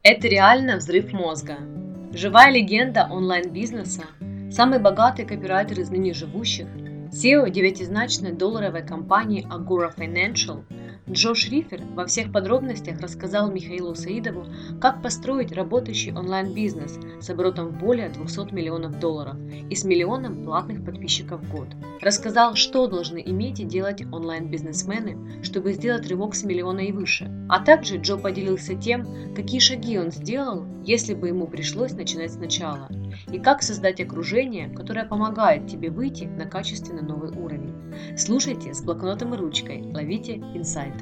Это реально взрыв мозга. Живая легенда онлайн-бизнеса, самый богатый копирайтер из ныне живущих, SEO девятизначной долларовой компании Agora Financial, Джо Шрифер во всех подробностях рассказал Михаилу Саидову, как построить работающий онлайн-бизнес с оборотом в более 200 миллионов долларов и с миллионом платных подписчиков в год. Рассказал, что должны иметь и делать онлайн-бизнесмены, чтобы сделать рывок с миллиона и выше. А также Джо поделился тем, какие шаги он сделал, если бы ему пришлось начинать сначала, и как создать окружение, которое помогает тебе выйти на качественно новый уровень. Слушайте с блокнотом и ручкой, ловите инсайты.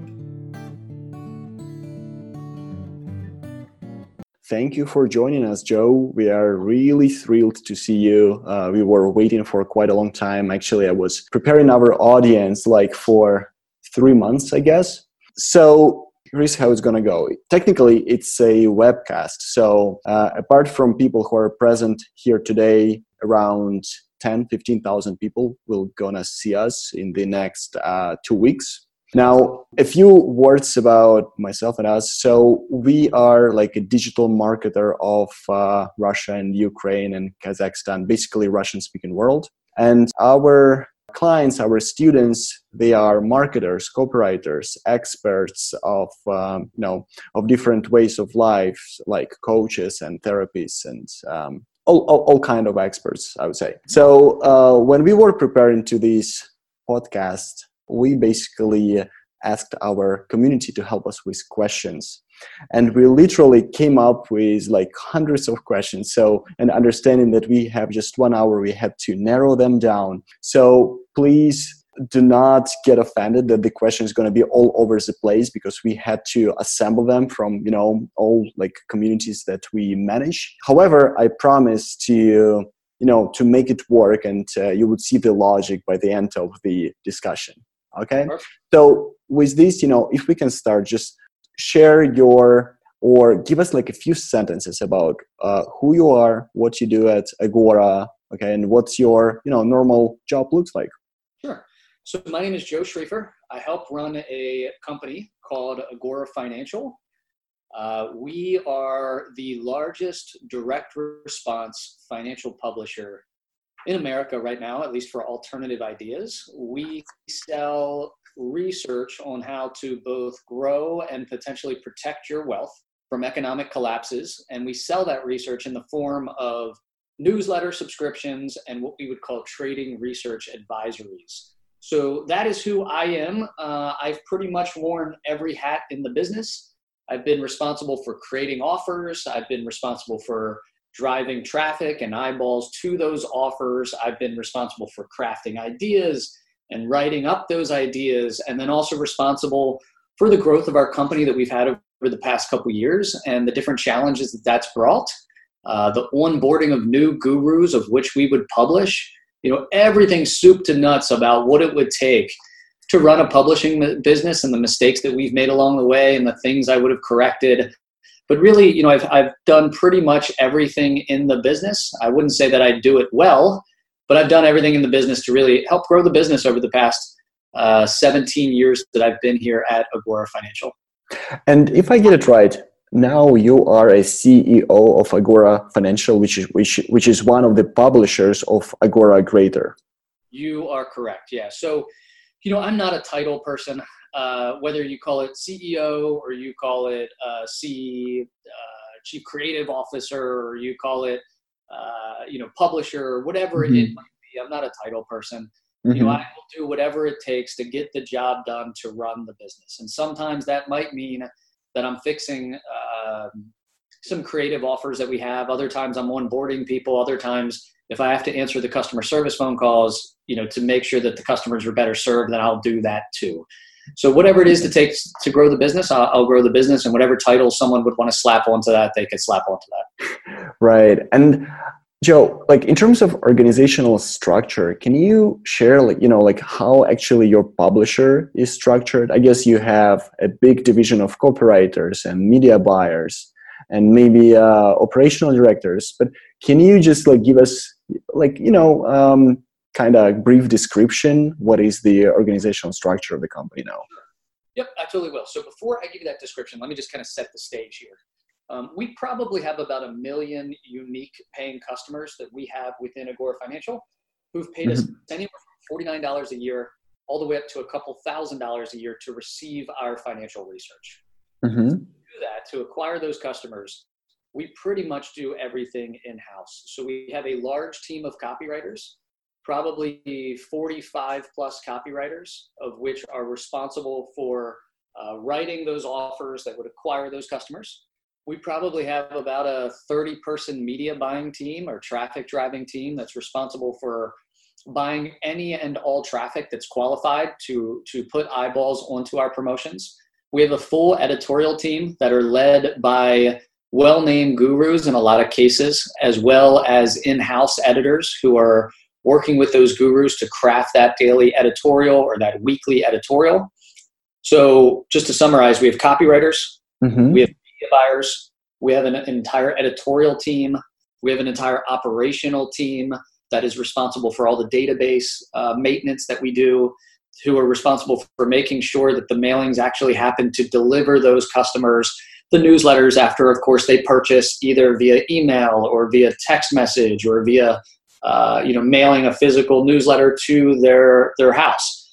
Thank you for joining us, Joe. We are really thrilled to see you. We were waiting for quite a long time. Actually, I was preparing our audience for 3 months, I guess. So here's how it's going to go. Technically, it's a webcast. So apart from people who are present here today, around 15,000 people will gonna see us in the next 2 weeks. Now, a few words about myself and us. So we are like a digital marketer of Russia and Ukraine and Kazakhstan, basically Russian-speaking world. And our clients, our students, they are marketers, copywriters, experts of different ways of life, like coaches and therapists and all kind of experts, I would say. So when we were preparing to this podcast, we basically asked our community to help us with questions. And we literally came up with hundreds of questions. So, and understanding that we have just 1 hour, we had to narrow them down. So please do not get offended that the question is going to be all over the place, because we had to assemble them from, all communities that we manage. However, I promise to make it work, and you would see the logic by the end of the discussion. Okay. Perfect. So with this, if we can start, just share or give us a few sentences about who you are, what you do at Agora, okay, and what's your normal job looks like. Sure. So my name is Joe Schrieffer. I help run a company called Agora Financial. We are the largest direct response financial publisher in America right now, at least for alternative ideas. We sell research on how to both grow and potentially protect your wealth from economic collapses. And we sell that research in the form of newsletter subscriptions and what we would call trading research advisories. So that is who I am. I've pretty much worn every hat in the business. I've been responsible for creating offers. I've been responsible for driving traffic and eyeballs to those offers. I've been responsible for crafting ideas and writing up those ideas, and then also responsible for the growth of our company that we've had over the past couple of years and the different challenges that that's brought. The onboarding of new gurus, of which we would publish, everything soup to nuts about what it would take to run a publishing business and the mistakes that we've made along the way and the things I would have corrected. But really, I've done pretty much everything in the business. I wouldn't say that I do it well, but I've done everything in the business to really help grow the business over the past 17 years that I've been here at Agora Financial. And if I get it right, now you are a CEO of Agora Financial, which is one of the publishers of Agora Greater. You are correct. Yeah. So, I'm not a title person. Whether you call it CEO or you call it Chief Creative Officer, or you call it publisher, or whatever it might be, I'm not a title person. I will do whatever it takes to get the job done to run the business. And sometimes that might mean that I'm fixing some creative offers that we have. Other times I'm onboarding people. Other times, if I have to answer the customer service phone calls, to make sure that the customers are better served, then I'll do that too. So whatever it is to take to grow the business, I'll grow the business, and whatever title someone would want to slap onto that, they could slap onto that. Right. And Joe, in terms of organizational structure, can you share, how actually your publisher is structured? I guess you have a big division of copywriters and media buyers and maybe operational directors. But can you just give us, kind of brief description? What is the organizational structure of the company now? Yep, I totally will. So before I give you that description, let me just kind of set the stage here. We probably have about 1 million unique paying customers that we have within Agora Financial who've paid us anywhere from $49 a year all the way up to a couple $1,000s a year to receive our financial research. To do that, to acquire those customers, we pretty much do everything in-house. So we have a large team of copywriters, probably 45 plus copywriters, of which are responsible for writing those offers that would acquire those customers. We probably have about a 30-person media buying team or traffic driving team that's responsible for buying any and all traffic that's qualified to put eyeballs onto our promotions. We have a full editorial team that are led by well-named gurus in a lot of cases, as well as in-house editors who are working with those gurus to craft that daily editorial or that weekly editorial. So just to summarize, we have copywriters, we have media buyers, we have an entire editorial team, we have an entire operational team that is responsible for all the database maintenance that we do, who are responsible for making sure that the mailings actually happen to deliver those customers the newsletters after, of course, they purchase either via email or via text message or via mailing a physical newsletter to their house.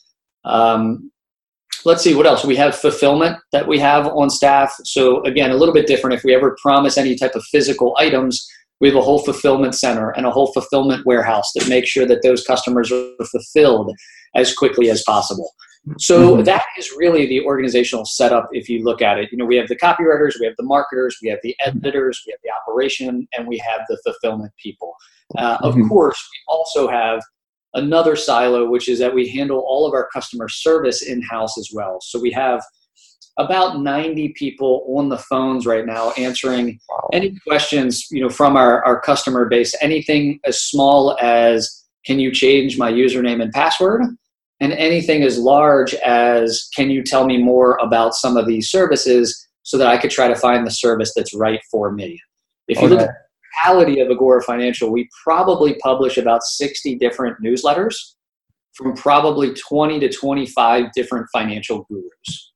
Let's see what else. We have fulfillment that we have on staff. So again, a little bit different. If we ever promise any type of physical items, we have a whole fulfillment center and a whole fulfillment warehouse that makes sure that those customers are fulfilled as quickly as possible. So that is really the organizational setup. If you look at it, we have the copywriters, we have the marketers, we have the editors, we have the operation, and we have the fulfillment people. Of course, we also have another silo, which is that we handle all of our customer service in-house as well. So we have about 90 people on the phones right now answering any questions, from our customer base, anything as small as, can you change my username and password? And anything as large as, can you tell me more about some of these services so that I could try to find the service that's right for me? If you look at the reality of Agora Financial, we probably publish about 60 different newsletters from probably 20 to 25 different financial gurus.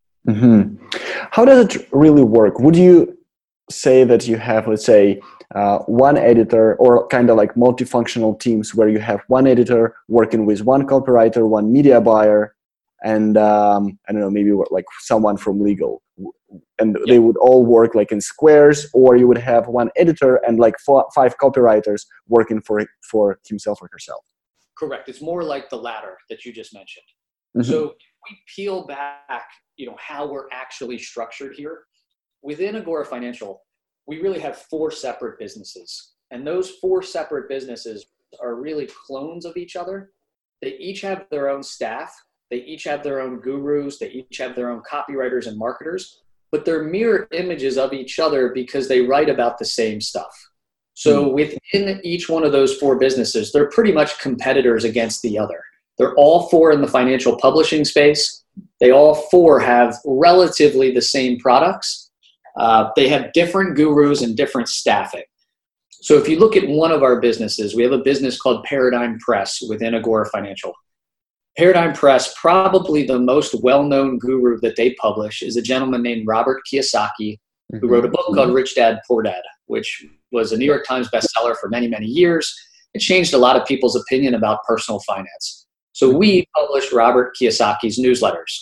How does it really work? Would you say that you have, let's say, one editor, or kind of like multifunctional teams where you have one editor working with one copywriter, one media buyer, and I don't know, maybe like someone from legal, and they would all work like in squares, or you would have one editor and like 5 copywriters working for himself or herself? Correct. It's more like the latter that you just mentioned. So if we peel back, how we're actually structured here within Agora Financial, we really have 4 separate businesses. And those 4 separate businesses are really clones of each other. They each have their own staff. They each have their own gurus. They each have their own copywriters and marketers. But they're mirror images of each other because they write about the same stuff. So within each one of those 4 businesses, they're pretty much competitors against the other. They're all 4 in the financial publishing space. They all 4 have relatively the same products. They have different gurus and different staffing. So if you look at one of our businesses, we have a business called Paradigm Press within Agora Financial. Paradigm Press, probably the most well-known guru that they publish, is a gentleman named Robert Kiyosaki, who wrote a book called Rich Dad, Poor Dad, which was a New York Times bestseller for many, many years. It changed a lot of people's opinion about personal finance. So we publish Robert Kiyosaki's newsletters.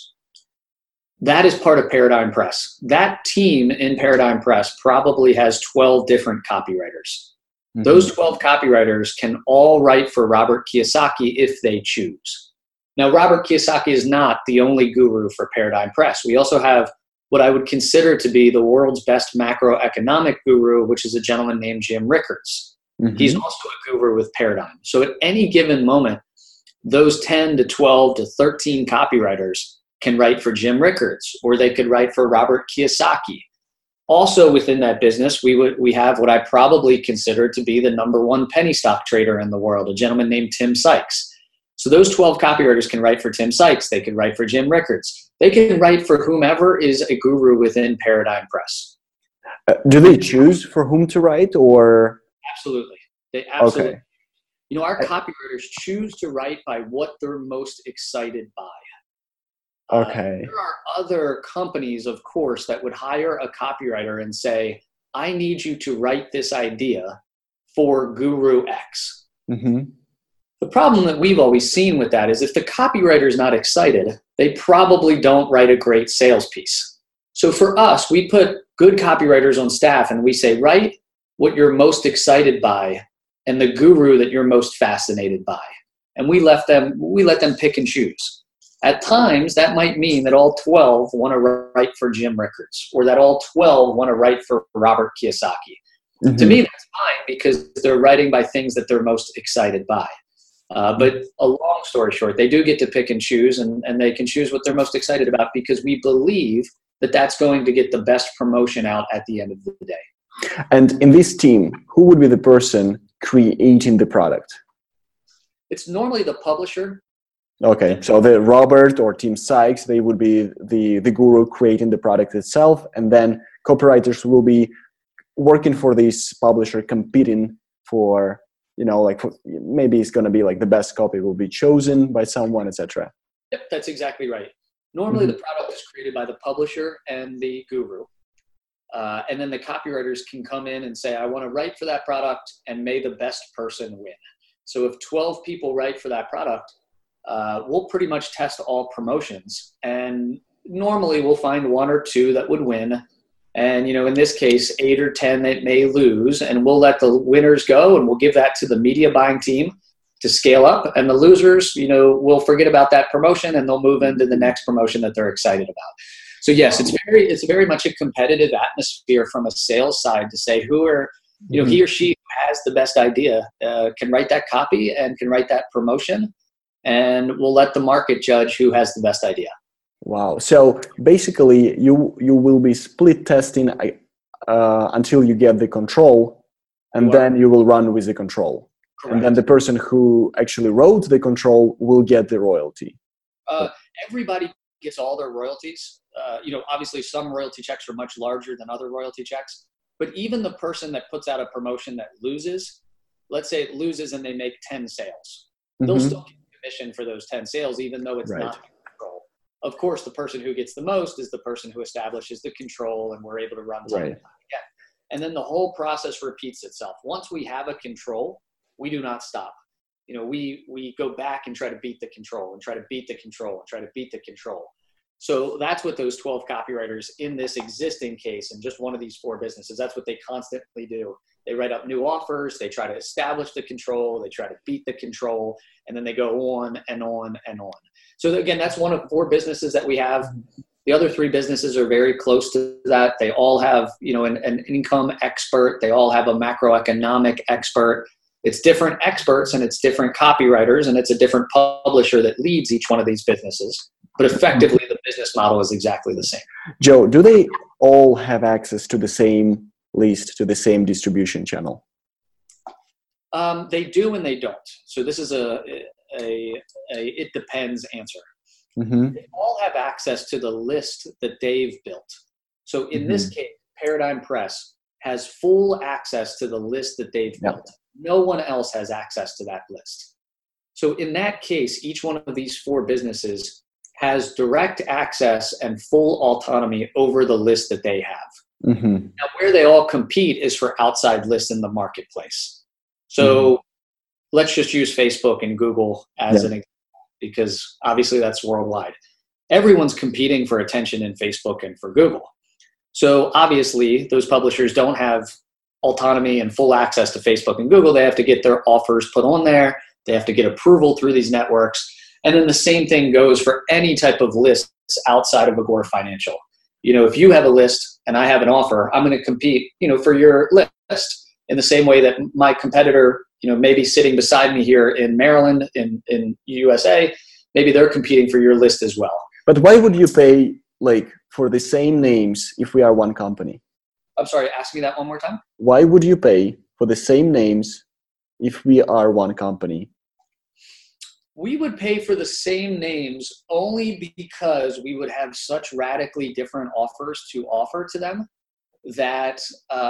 That is part of Paradigm Press. That team in Paradigm Press probably has 12 different copywriters. Those 12 copywriters can all write for Robert Kiyosaki if they choose. Now, Robert Kiyosaki is not the only guru for Paradigm Press. We also have what I would consider to be the world's best macroeconomic guru, which is a gentleman named Jim Rickards. He's also a guru with Paradigm. So at any given moment, those 10 to 12 to 13 copywriters can write for Jim Rickards, or they could write for Robert Kiyosaki. Also within that business, we have what I probably consider to be the number 1 penny stock trader in the world, a gentleman named Tim Sykes. So those 12 copywriters can write for Tim Sykes. They can write for Jim Rickards. They can write for whomever is a guru within Paradigm Press. Do they choose for whom to write, or? Absolutely. They absolutely. Okay. Our copywriters choose to write by what they're most excited by. Okay. There are other companies, of course, that would hire a copywriter and say, I need you to write this idea for Guru X. Mm-hmm. The problem that we've always seen with that is if the copywriter is not excited, they probably don't write a great sales piece. So for us, we put good copywriters on staff and we say, write what you're most excited by and the guru that you're most fascinated by. And we let them pick and choose. At times, that might mean that all 12 want to write for Jim Rickards, or that all 12 want to write for Robert Kiyosaki. Mm-hmm. To me, that's fine because they're writing by things that they're most excited by. But a long story short, they do get to pick and choose, and they can choose what they're most excited about because we believe that that's going to get the best promotion out at the end of the day. And in this team, who would be the person creating the product? It's normally the publisher. Okay, so the Robert or Tim Sykes, they would be the guru creating the product itself, and then copywriters will be working for this publisher, competing for, maybe it's going to be like the best copy will be chosen by someone, etc. Yep, that's exactly right. Normally the product is created by the publisher and the guru. And then the copywriters can come in and say, I want to write for that product, and may the best person win. So if 12 people write for that product, we'll pretty much test all promotions, and normally we'll find one or two that would win. And, in this case, 8 or 10 that may lose, and we'll let the winners go, and we'll give that to the media buying team to scale up. And the losers, will forget about that promotion, and they'll move into the next promotion that they're excited about. So yes, it's very much a competitive atmosphere from a sales side to say who are, he or she has the best idea, can write that copy and can write that promotion, and we'll let the market judge who has the best idea. Wow. So basically you will be split testing until you get the control, and then you will run with the control. Correct. And then the person who actually wrote the control will get the royalty. Everybody gets all their royalties. Obviously some royalty checks are much larger than other royalty checks, but even the person that puts out a promotion that loses, let's say it loses and they make 10 sales, they'll still get commission for those 10 sales, even though it's not control. Of course, the person who gets the most is the person who establishes the control, and we're able to run time and time again. And then the whole process repeats itself. Once we have a control, we do not stop. We go back and try to beat the control, and try to beat the control, and try to beat the control. So that's what those 12 copywriters in this existing case, and just one of these 4 businesses, that's what they constantly do. They write up new offers, they try to establish the control, they try to beat the control, and then they go on and on and on. So again, that's one of 4 businesses that we have. The other 3 businesses are very close to that. They all have, an income expert. They all have a macroeconomic expert. It's different experts, and it's different copywriters, and it's a different publisher that leads each one of these businesses. But effectively, the business model is exactly the same. Joe, do they all have access to the same list, to the same distribution channel? They do and they don't. So this is a it depends answer. Mm-hmm. They all have access to the list that they've built. So in this case, Paradigm Press has full access to the list that they've built. No one else has access to that list. So in that case, each one of these 4 businesses has direct access and full autonomy over the list that they have. Mm-hmm. Now, where they all compete is for outside lists in the marketplace. So let's just use Facebook and Google as an example, because obviously that's worldwide. Everyone's competing for attention in Facebook and for Google. So obviously those publishers don't have autonomy and full access to Facebook and Google. They have to get their offers put on there. They have to get approval through these networks. And then the same thing goes for any type of lists outside of Agora Financial. If you have a list and I have an offer, I'm going to compete, for your list in the same way that my competitor, maybe sitting beside me here in Maryland, in USA, maybe they're competing for your list as well. But why would you pay for the same names if we are one company? I'm sorry, ask me that one more time. Why would you pay for the same names if we are one company? We would pay for the same names only because we would have such radically different offers to offer to them that,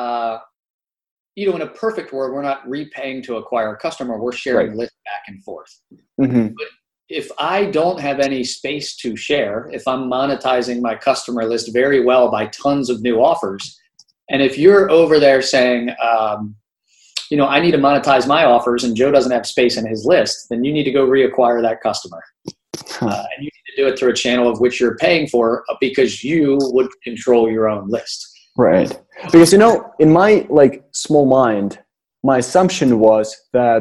in a perfect world, we're not repaying to acquire a customer. We're sharing lists back and forth. Mm-hmm. But if I don't have any space to share, if I'm monetizing my customer list very well by tons of new offers, And if you're over there saying, I need to monetize my offers and Joe doesn't have space in his list, then you need to go reacquire that customer. And you need to do it through a channel of which you're paying for because you would control your own list. Right. Because, in my small mind, my assumption was that,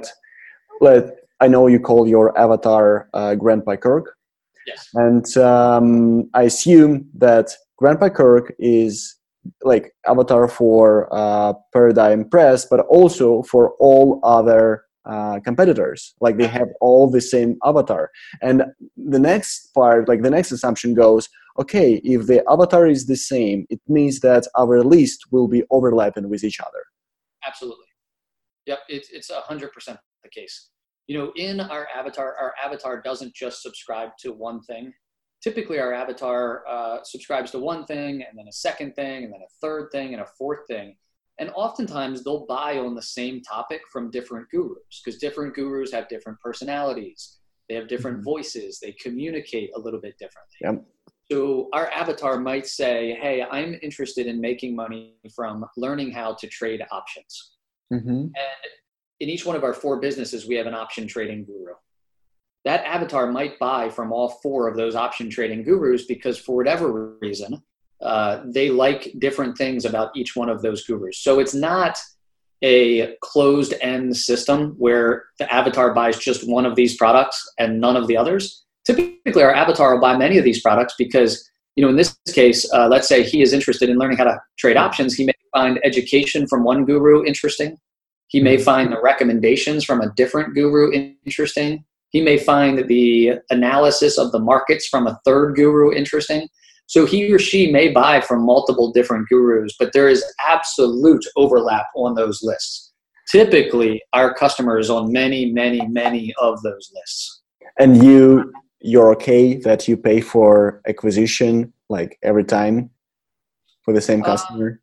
I know you call your avatar Grandpa Kirk. Yes. And I assume that Grandpa Kirk is avatar for Paradigm Press, but also for all other competitors. They have all the same avatar. And the next part, the next assumption goes, okay, if the avatar is the same, it means that our list will be overlapping with each other. Absolutely. Yep, it's 100% the case. In our avatar doesn't just subscribe to one thing. Typically, our avatar subscribes to one thing, and then a second thing, and then a third thing, and a fourth thing. And oftentimes, they'll buy on the same topic from different gurus, because different gurus have different personalities. They have different voices. They communicate a little bit differently. Yep. So our avatar might say, hey, I'm interested in making money from learning how to trade options. Mm-hmm. And in each one of our 4 businesses, we have an option trading guru. That avatar might buy from all 4 of those option trading gurus because for whatever reason, they like different things about each one of those gurus. So it's not a closed end system where the avatar buys just one of these products and none of the others. Typically, our avatar will buy many of these products because, in this case, let's say he is interested in learning how to trade options. He may find education from one guru interesting. He may find the recommendations from a different guru interesting. He may find the analysis of the markets from a third guru interesting. So he or she may buy from multiple different gurus, but there is absolute overlap on those lists. Typically, our customer is on many, many, many of those lists. And you're okay that you pay for acquisition every time for the same customer?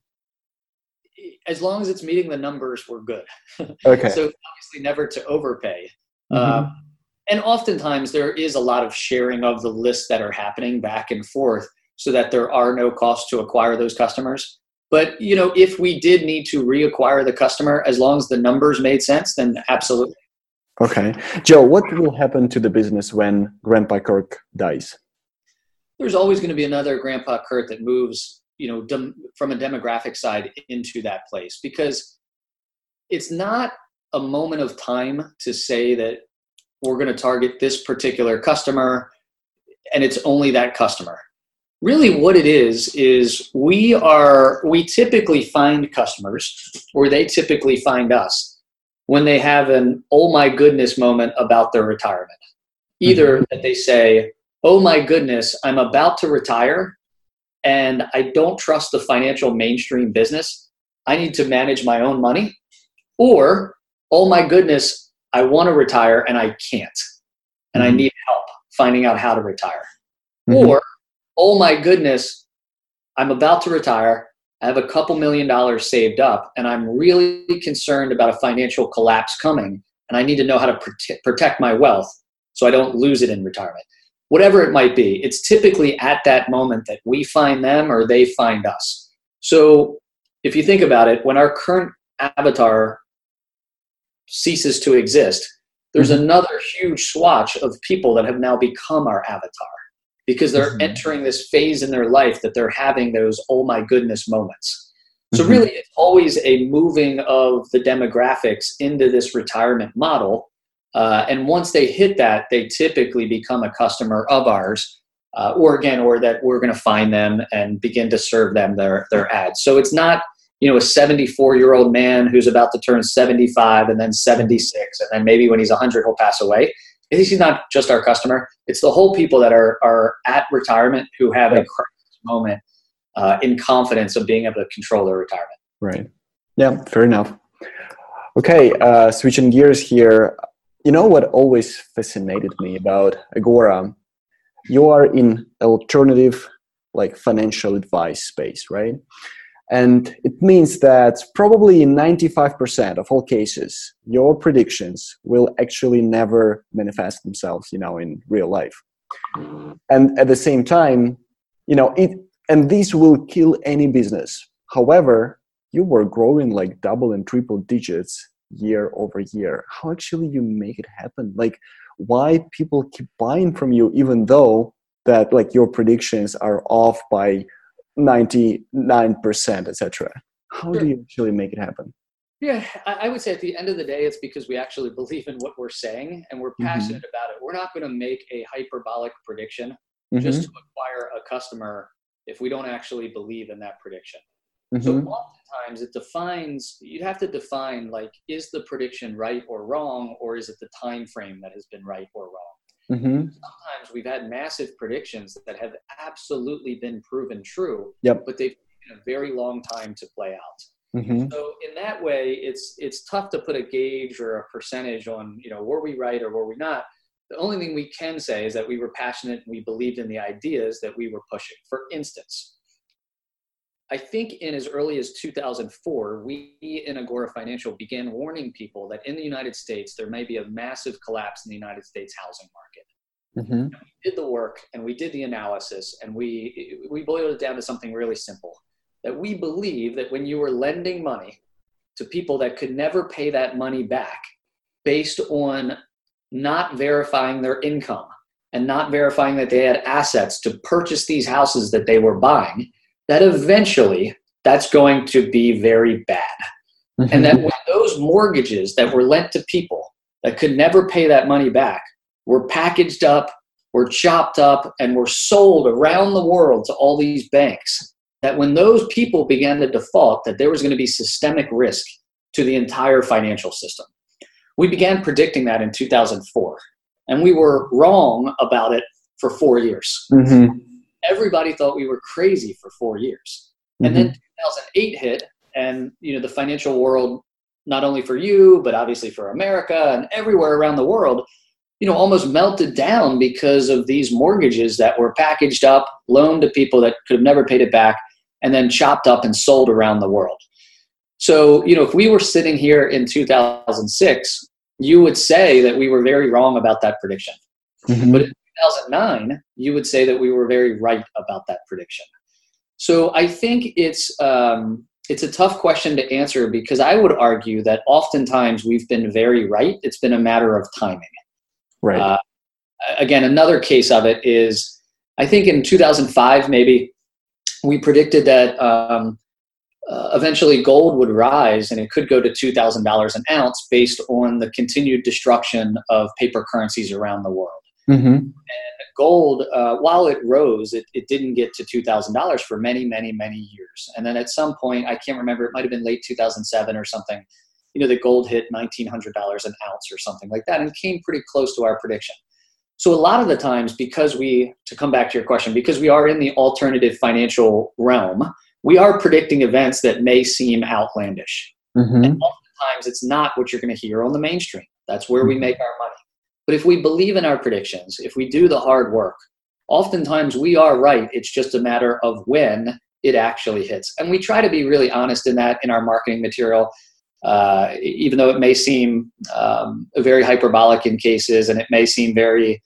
As long as it's meeting the numbers, we're good. Okay. So obviously never to overpay. Mm-hmm. And oftentimes there is a lot of sharing of the lists that are happening back and forth so that there are no costs to acquire those customers. But, if we did need to reacquire the customer, as long as the numbers made sense, then absolutely. Okay. Joe, what will happen to the business when Grandpa Kirk dies? There's always going to be another Grandpa Kirk that moves, from a demographic side into that place, because it's not a moment of time to say that we're going to target this particular customer and it's only that customer. Really what it is we typically find customers, or they typically find us, when they have an oh my goodness moment about their retirement. Either that they say, oh my goodness, I'm about to retire and I don't trust the financial mainstream business. I need to manage my own money. Or, oh my goodness, I want to retire and I can't. And I need help finding out how to retire. Or, oh my goodness, I'm about to retire. I have a couple $1 million saved up and I'm really concerned about a financial collapse coming. And I need to know how to protect my wealth so I don't lose it in retirement. Whatever it might be, it's typically at that moment that we find them or they find us. So if you think about it, when our current avatar ceases to exist, there's another huge swatch of people that have now become our avatar because they're entering this phase in their life that they're having those oh my goodness moments. So really, it's always a moving of the demographics into this retirement model. And once they hit that, they typically become a customer of ours, or that we're going to find them and begin to serve them their ads. So it's not, a 74-year-old man who's about to turn 75 and then 76, and then maybe when he's 100, he'll pass away. He's not just our customer. It's the whole people that are at retirement who have a crisis moment in confidence of being able to control their retirement. Right. Yeah, fair enough. Okay, switching gears here. You know what always fascinated me about Agora? You are in alternative, financial advice space, right? And it means that probably in 95% of all cases, your predictions will actually never manifest themselves, in real life. And at the same time, and this will kill any business. However, you were growing like double and triple digits year over year. How actually you make it happen? Like, why people keep buying from you, even though that like your predictions are off by 99%, etc.? How do you actually make it happen? Yeah, I would say at the end of the day, it's because we actually believe in what we're saying and we're passionate about it. We're not going to make a hyperbolic prediction just to acquire a customer if we don't actually believe in that prediction. So oftentimes you'd have to define, like, is the prediction right or wrong, or is it the time frame that has been right or wrong? Sometimes we've had massive predictions that have absolutely been proven true, but they've taken a very long time to play out. So in that way, it's tough to put a gauge or a percentage on, were we right or were we not? The only thing we can say is that we were passionate and we believed in the ideas that we were pushing. For instance, I think in as early as 2004, we in Agora Financial began warning people that in the United States, there may be a massive collapse in the United States housing market. And we did the work and we did the analysis, and we boiled it down to something really simple. That we believe that when you were lending money to people that could never pay that money back based on not verifying their income and not verifying that they had assets to purchase these houses that they were buying, that eventually that's going to be very bad. And that when those mortgages that were lent to people that could never pay that money back were packaged up, were chopped up, and were sold around the world to all these banks, that when those people began to default, that there was going to be systemic risk to the entire financial system. We began predicting that in 2004, and we were wrong about it for 4 years. Everybody thought we were crazy for 4 years. And then 2008 hit, and the financial world, not only for you, but obviously for America and everywhere around the world, almost melted down because of these mortgages that were packaged up, loaned to people that could have never paid it back, and then chopped up and sold around the world. So, if we were sitting here in 2006, you would say that we were very wrong about that prediction. But in 2009, you would say that we were very right about that prediction. So I think it's a tough question to answer, because I would argue that oftentimes we've been very right. It's been a matter of timing. Right. Again, another case of it is, I think in 2005, maybe, we predicted that eventually gold would rise and it could go to $2,000 an ounce based on the continued destruction of paper currencies around the world. And gold, while it rose, it didn't get to $2,000 for many, many, many years. And then at some point, I can't remember, it might have been late 2007 or something, the gold hit $1,900 an ounce or something like that, and came pretty close to our prediction. So a lot of the times, to come back to your question, because we are in the alternative financial realm, we are predicting events that may seem outlandish. And oftentimes it's not what you're going to hear on the mainstream. That's where we make our money. But if we believe in our predictions, if we do the hard work, oftentimes we are right. It's just a matter of when it actually hits. And we try to be really honest in that in our marketing material, even though it may seem very hyperbolic in cases, and it may seem very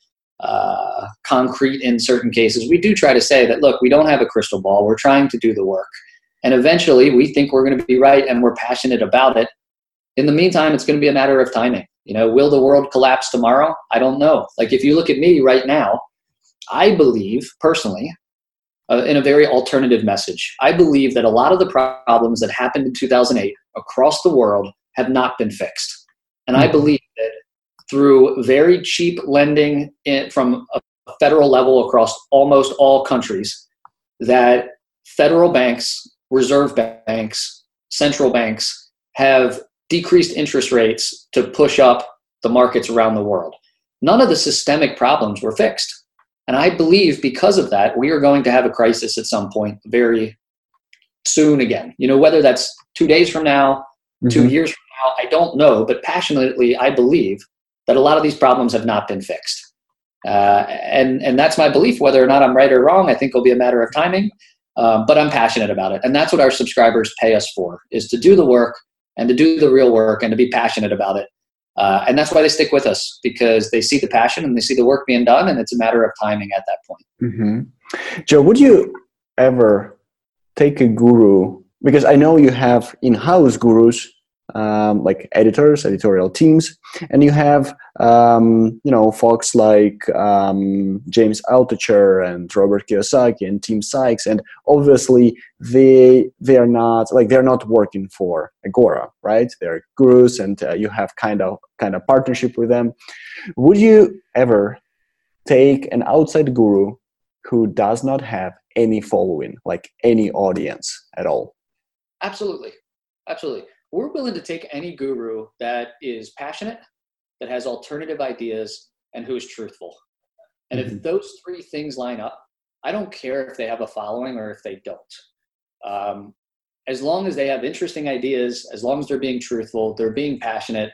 concrete in certain cases. We do try to say that, look, we don't have a crystal ball. We're trying to do the work. And eventually we think we're going to be right, and we're passionate about it. In the meantime, it's going to be a matter of timing. Will the world collapse tomorrow? I don't know. Like, if you look at me right now, I believe personally, in a very alternative message, I believe that a lot of the problems that happened in 2008 across the world have not been fixed. And I believe that through very cheap lending from a federal level across almost all countries, that federal banks, reserve banks, central banks have decreased interest rates to push up the markets around the world. None of the systemic problems were fixed. And I believe because of that, we are going to have a crisis at some point very soon again. Whether that's 2 days from now, 2 years from now, I don't know. But passionately, I believe that a lot of these problems have not been fixed. And that's my belief. Whether or not I'm right or wrong, I think will be a matter of timing. But I'm passionate about it. And that's what our subscribers pay us for, is to do the work and to do the real work and to be passionate about it. And that's why they stick with us, because they see the passion and they see the work being done, and it's a matter of timing at that point. Joe, would you ever take a guru because I know you have in-house gurus, like editors, editorial teams, and you have folks like James Altucher and Robert Kiyosaki and Tim Sykes, and obviously they're not working for Agora, right? They're gurus, and you have kind of partnership with them. Would you ever take an outside guru who does not have any following, like any audience at all? Absolutely. We're willing to take any guru that is passionate, that has alternative ideas, and who is truthful. And if those three things line up, I don't care if they have a following or if they don't. As long as they have interesting ideas, as long as they're being truthful, they're being passionate,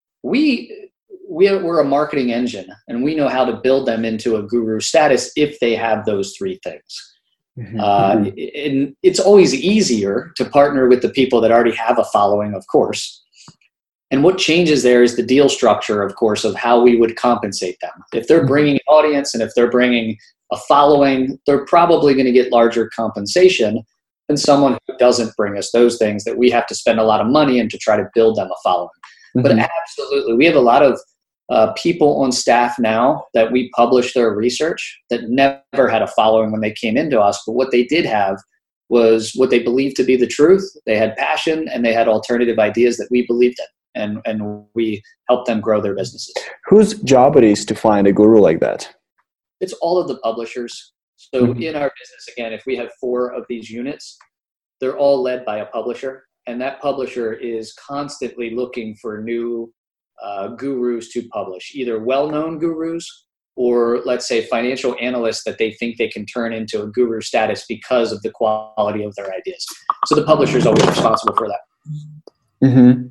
we're a marketing engine, and we know how to build them into a guru status if they have those three things. And it's always easier to partner with the people that already have a following, of course. And what changes there is the deal structure, of course, of how we would compensate them. If they're bringing an audience and if they're bringing a following, they're probably going to get larger compensation than someone who doesn't bring us those things that we have to spend a lot of money in to try to build them a following. But absolutely, we have a lot of people on staff now that we publish their research that never had a following when they came into us, but what they did have was what they believed to be the truth. They had passion and they had alternative ideas that we believed in, and we helped them grow their businesses. Whose job it is to find a guru like that? It's all of the publishers. So in our business, again, if we have 4 of these units, they're all led by a publisher, and that publisher is constantly looking for new gurus to publish, either well-known gurus or, let's say, financial analysts that they think they can turn into a guru status because of the quality of their ideas. So the publisher is always responsible for that.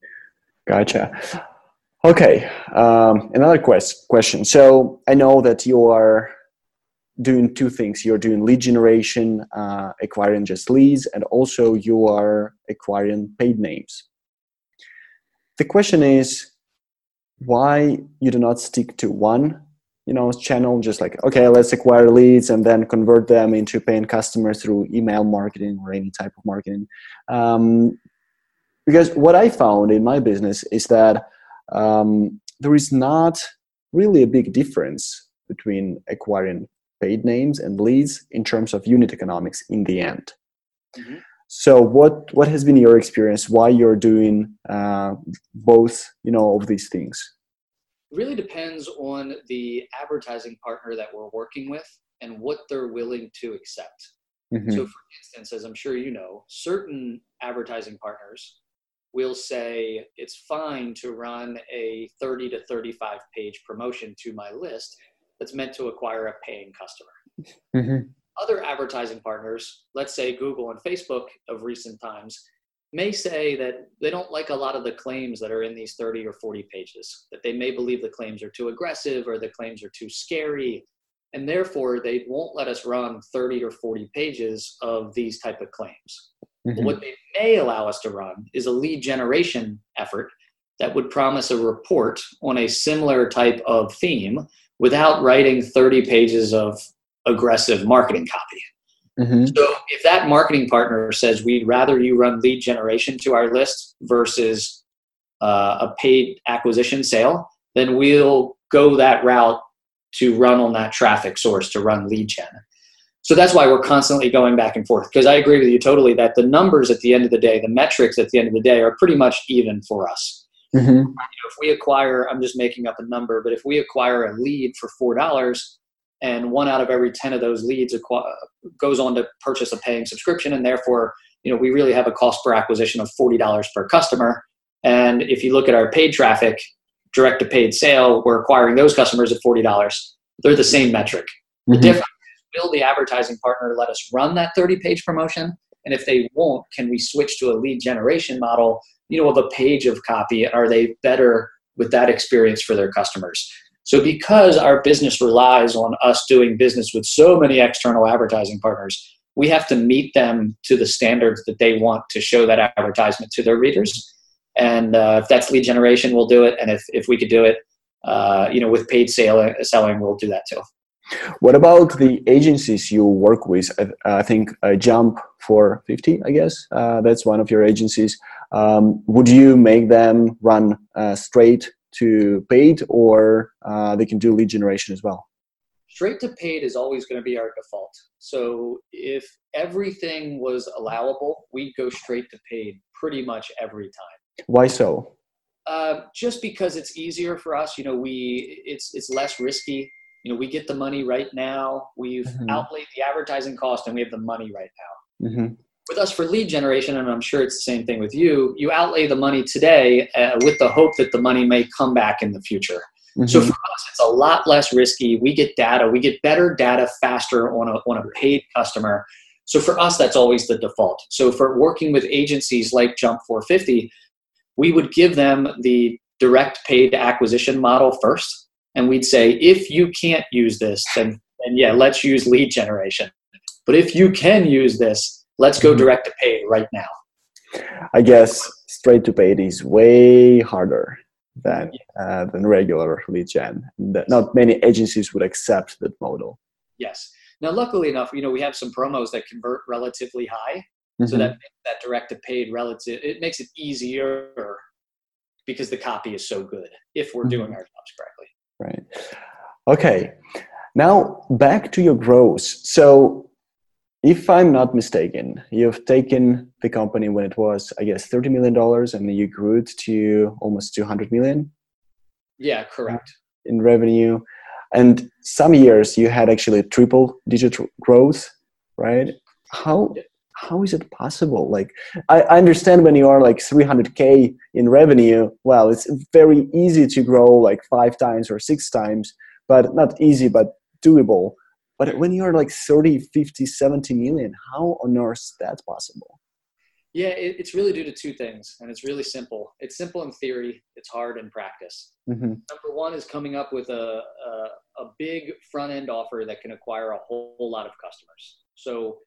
Gotcha. Okay. Another question. So I know that you are doing 2 things. You're doing lead generation, acquiring just leads, and also you are acquiring paid names. The question is why you do not stick to one, channel, just like, okay, let's acquire leads and then convert them into paying customers through email marketing or any type of marketing. Because what I found in my business is that there is not really a big difference between acquiring paid names and leads in terms of unit economics in the end. So what has been your experience? Why you're doing both, of these things? It really depends on the advertising partner that we're working with and what they're willing to accept. So for instance, as I'm sure you know, certain advertising partners will say it's fine to run a 30 to 35 page promotion to my list that's meant to acquire a paying customer. Other advertising partners, let's say Google and Facebook of recent times, may say that they don't like a lot of the claims that are in these 30 or 40 pages, that they may believe the claims are too aggressive or the claims are too scary, and therefore they won't let us run 30 or 40 pages of these type of claims. But what they may allow us to run is a lead generation effort that would promise a report on a similar type of theme without writing 30 pages of aggressive marketing copy. So if that marketing partner says we'd rather you run lead generation to our list versus a paid acquisition sale, then we'll go that route to run on that traffic source to run lead gen. So that's why we're constantly going back and forth, because I agree with you totally that the numbers at the end of the day, the metrics at the end of the day are pretty much even for us. If we acquire, I'm just making up a number, but if we acquire a lead for $4 and 1 out of every 10 of those leads goes on to purchase a paying subscription, and therefore, we really have a cost per acquisition of $40 per customer. And if you look at our paid traffic, direct to paid sale, we're acquiring those customers at $40. They're the same metric. The difference is, will the advertising partner let us run that 30-page promotion? And if they won't, can we switch to a lead generation model, of a page of copy? Are they better with that experience for their customers? So because our business relies on us doing business with so many external advertising partners, we have to meet them to the standards that they want to show that advertisement to their readers. And if that's lead generation, we'll do it. And if we could do it, with paid selling, we'll do that too. What about the agencies you work with? I think Jump for 50, I guess. That's one of your agencies. Would you make them run straight to paid, or they can do lead generation as well? Straight to paid is always going to be our default. So if everything was allowable, we'd go straight to paid pretty much every time. Why so? Just because it's easier for us. It's less risky. We get the money right now. We've outlaid the advertising cost and we have the money right now. Mm-hmm. With us for lead generation, and I'm sure it's the same thing with you, you outlay the money today with the hope that the money may come back in the future. Mm-hmm. So for us, it's a lot less risky. We get data. We get better data faster on a paid customer. So for us, that's always the default. So for working with agencies like Jump 450, we would give them the direct paid acquisition model first. And we'd say, if you can't use this, then yeah, let's use lead generation. But if you can use this, let's go direct to paid right now. I guess straight to paid is way harder than regular lead gen. Not many agencies would accept that model. Yes. Now, luckily enough, we have some promos that convert relatively high. So that direct to paid it makes it easier because the copy is so good if we're doing our jobs correctly. Right. Okay. Now back to your growth. So if I'm not mistaken, you've taken the company when it was, I guess, $30 million and you grew it to almost 200 million. Yeah, correct. In revenue. And some years you had actually triple digit growth, right? How is it possible? Like, I understand when you are like 300K in revenue, well, it's very easy to grow like 5 times or 6 times, but not easy, but doable. But when you're like 30, 50, 70 million, how on earth is that possible? Yeah, it's really due to 2 things, and it's really simple. It's simple in theory. It's hard in practice. Number 1 is coming up with a big front-end offer that can acquire a whole lot of customers. So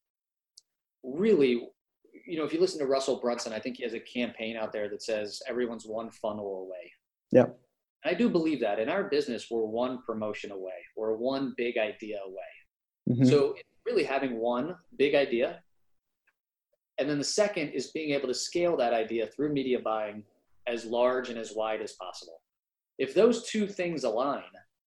really, if you listen to Russell Brunson, I think he has a campaign out there that says everyone's one funnel away. Yeah. And I do believe that in our business, we're one promotion away. We're one big idea away. So it's really having one big idea. And then the second is being able to scale that idea through media buying as large and as wide as possible. If those 2 things align,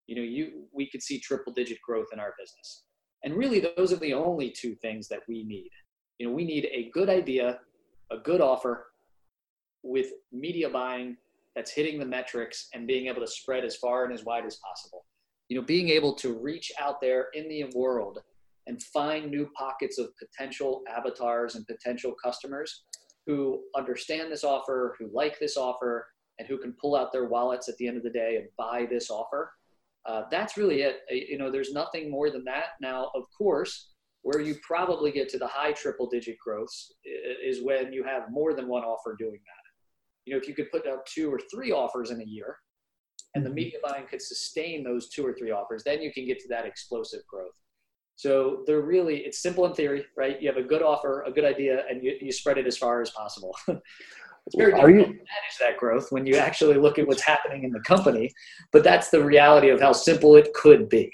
we could see triple digit growth in our business. And really, those are the only 2 things that we need. We need a good idea, a good offer with media buying that's hitting the metrics and being able to spread as far and as wide as possible. Being able to reach out there in the world and find new pockets of potential avatars and potential customers who understand this offer, who like this offer, and who can pull out their wallets at the end of the day and buy this offer. That's really it. There's nothing more than that. Now, of course, where you probably get to the high triple digit growths is when you have more than one offer doing that. If you could put out 2 or 3 offers in a year and the media buying could sustain those 2 or 3 offers, then you can get to that explosive growth. So it's simple in theory, right? You have a good offer, a good idea, and you spread it as far as possible. It's very difficult to manage that growth when you actually look at what's happening in the company, but that's the reality of how simple it could be.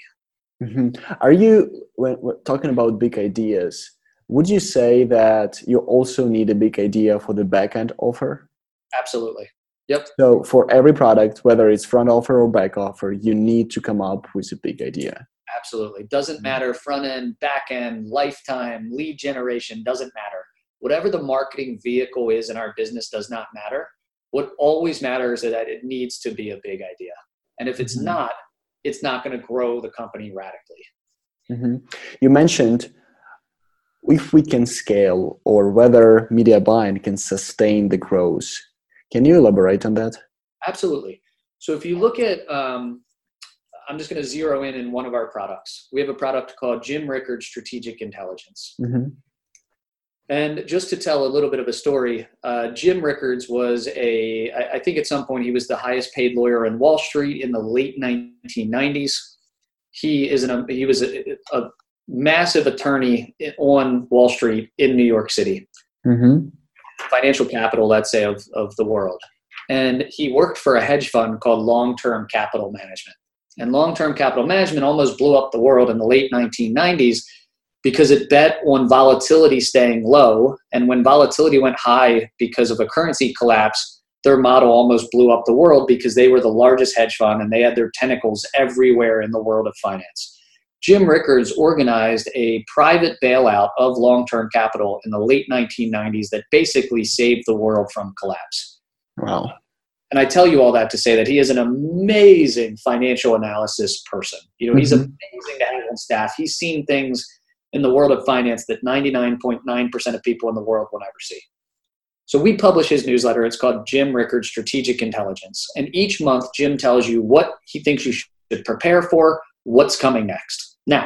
Are you, when talking about big ideas, would you say that you also need a big idea for the back-end offer? Absolutely. Yep. So for every product, whether it's front offer or back offer, you need to come up with a big idea. Absolutely. Doesn't matter front end, back end, lifetime, lead generation, doesn't matter. Whatever the marketing vehicle is in our business does not matter. What always matters is that it needs to be a big idea. And if it's not, it's not going to grow the company radically. You mentioned if we can scale or whether media buying can sustain the growth. Can you elaborate on that? Absolutely. So if you look at, I'm just going to zero in one of our products. We have a product called Jim Rickards Strategic Intelligence. And just to tell a little bit of a story, Jim Rickards was I think at some point he was the highest paid lawyer in Wall Street in the late 1990s. He was a massive attorney on Wall Street in New York City. Financial capital, let's say, of the world. And he worked for a hedge fund called Long-Term Capital Management. And long-term capital management almost blew up the world in the late 1990s because it bet on volatility staying low. And when volatility went high because of a currency collapse, their model almost blew up the world because they were the largest hedge fund and they had their tentacles everywhere in the world of finance. Jim Rickards organized a private bailout of long-term capital in the late 1990s that basically saved the world from collapse. Wow. And I tell you all that to say that he is an amazing financial analysis person. He's amazing to have on staff. He's seen things in the world of finance that 99.9% of people in the world will never see. So we publish his newsletter. It's called Jim Rickards Strategic Intelligence. And each month, Jim tells you what he thinks you should prepare for, what's coming next. Now,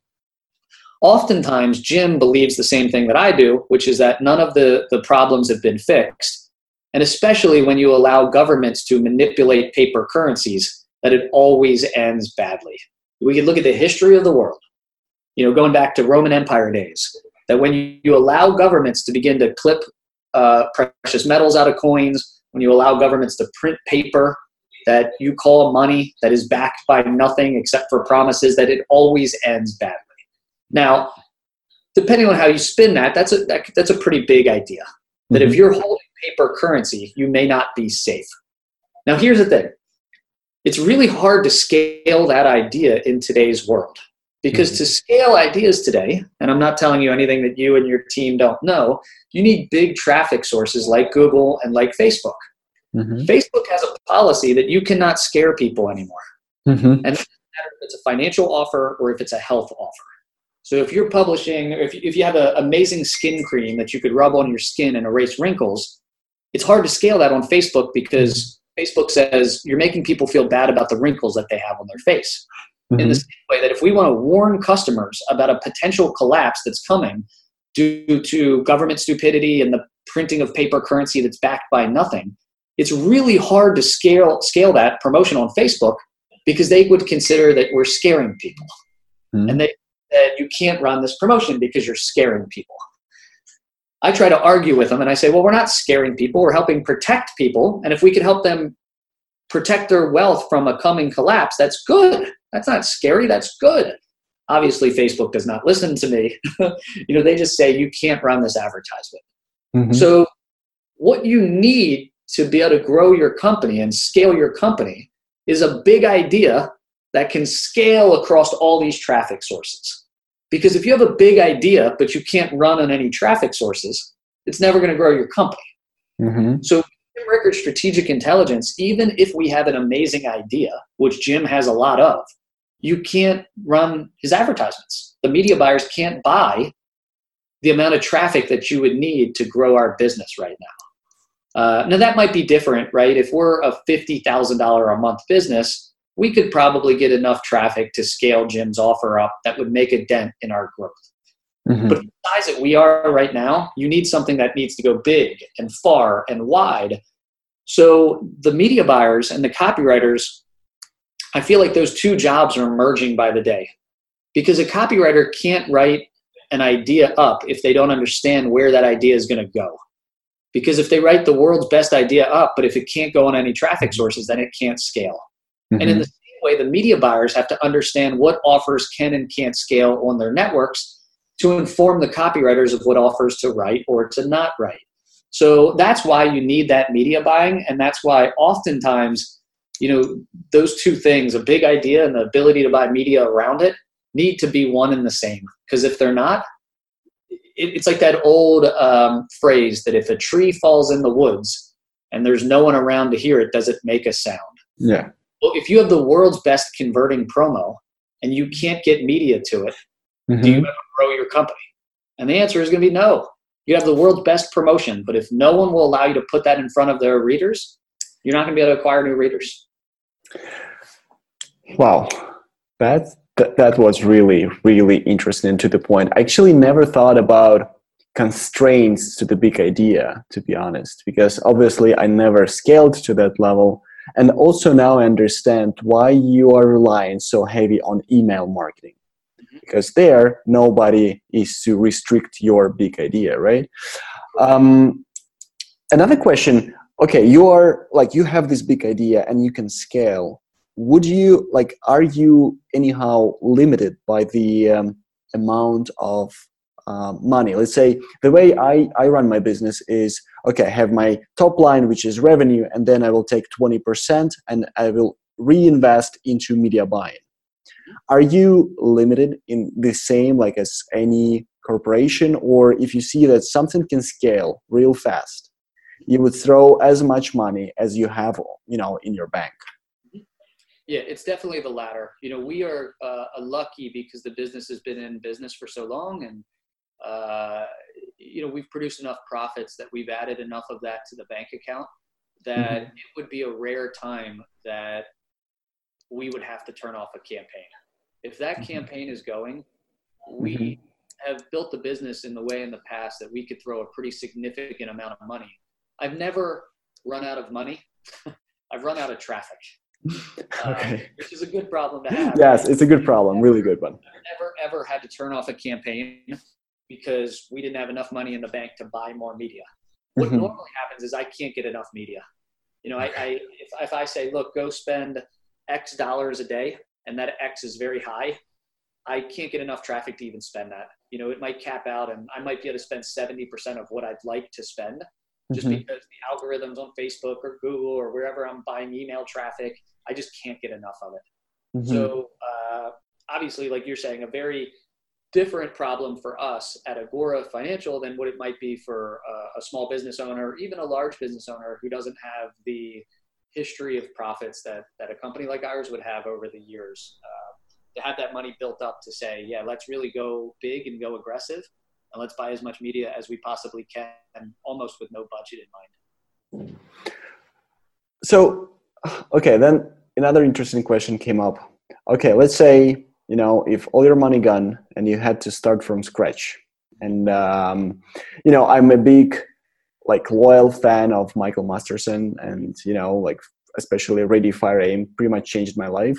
oftentimes, Jim believes the same thing that I do, which is that none of the problems have been fixed. And especially when you allow governments to manipulate paper currencies, that it always ends badly. We can look at the history of the world, going back to Roman Empire days, that when you allow governments to begin to clip precious metals out of coins, when you allow governments to print paper that you call money that is backed by nothing except for promises, that it always ends badly. Now, depending on how you spin that, that's a pretty big idea. That if you're holding paper currency, you may not be safe. Now, here's the thing. It's really hard to scale that idea in today's world. Because to scale ideas today, and I'm not telling you anything that you and your team don't know, you need big traffic sources like Google and like Facebook. Facebook has a policy that you cannot scare people anymore. And it doesn't matter if it's a financial offer or if it's a health offer. So if you're publishing, if you have an amazing skin cream that you could rub on your skin and erase wrinkles, it's hard to scale that on Facebook because Facebook says you're making people feel bad about the wrinkles that they have on their face. In the same way that if we want to warn customers about a potential collapse that's coming due to government stupidity and the printing of paper currency that's backed by nothing, it's really hard to scale that promotion on Facebook because they would consider that we're scaring people. And that you can't run this promotion because you're scaring people. I try to argue with them and I say, well, we're not scaring people. We're helping protect people. And if we can help them protect their wealth from a coming collapse, that's good. That's not scary. That's good. Obviously, Facebook does not listen to me. They just say you can't run this advertisement. So what you need to be able to grow your company and scale your company is a big idea that can scale across all these traffic sources. Because if you have a big idea, but you can't run on any traffic sources, it's never going to grow your company. So Jim Rickards Strategic Intelligence, even if we have an amazing idea, which Jim has a lot of, you can't run his advertisements. The media buyers can't buy the amount of traffic that you would need to grow our business right now. Now that might be different, right? If we're a $50,000 a month business, we could probably get enough traffic to scale Jim's offer up that would make a dent in our growth. But the size that we are right now, you need something that needs to go big and far and wide. So the media buyers and the copywriters, I feel like those two jobs are emerging by the day. Because a copywriter can't write an idea up if they don't understand where that idea is going to go. Because if they write the world's best idea up, but if it can't go on any traffic sources, then it can't scale. And in the same way, the media buyers have to understand what offers can and can't scale on their networks to inform the copywriters of what offers to write or to not write. So that's why you need that media buying. And that's why oftentimes, those two things, a big idea and the ability to buy media around it, need to be one and the same. Because if they're not, it's like that old phrase that if a tree falls in the woods and there's no one around to hear it, does it make a sound? Yeah. Well, if you have the world's best converting promo and you can't get media to it, do you ever grow your company? And the answer is going to be no. You have the world's best promotion, but if no one will allow you to put that in front of their readers, you're not going to be able to acquire new readers. Wow. That was really, really interesting to the point. I actually never thought about constraints to the big idea, to be honest, because obviously I never scaled to that level. And also now I understand why you are relying so heavy on email marketing. Because there, nobody is to restrict your big idea, right? Another question, okay, you have this big idea and you can scale. would you like, are you anyhow limited by the amount of money? Let's say the way I run my business is, okay, I have my top line, which is revenue, and then I will take 20% and I will reinvest into media buying. Are you limited in the same like as any corporation, or if you see that something can scale real fast, you would throw as much money as you have, in your bank? Yeah, it's definitely the latter. We are lucky because the business has been in business for so long, and we've produced enough profits that we've added enough of that to the bank account that it would be a rare time that we would have to turn off a campaign. If that campaign is going, we have built the business in the way in the past that we could throw a pretty significant amount of money. I've never run out of money. I've run out of traffic. Okay. Which is a good problem to have. Yes, it's a good problem, really good one. I've never, ever had to turn off a campaign because we didn't have enough money in the bank to buy more media. What normally happens is I can't get enough media. If I say, look, go spend X dollars a day, and that X is very high, I can't get enough traffic to even spend that. It might cap out, and I might be able to spend 70% of what I'd like to spend just because the algorithms on Facebook or Google or wherever I'm buying email traffic, I just can't get enough of it. So obviously, like you're saying, a very different problem for us at Agora Financial than what it might be for a small business owner, or even a large business owner who doesn't have the history of profits that a company like ours would have over the years. To have that money built up to say, yeah, let's really go big and go aggressive, and let's buy as much media as we possibly can, almost with no budget in mind. So, okay, then another interesting question came up. Okay, let's say, if all your money gone and you had to start from scratch, and, I'm a big, loyal fan of Michael Masterson, and, especially Ready, Fire, Aim pretty much changed my life.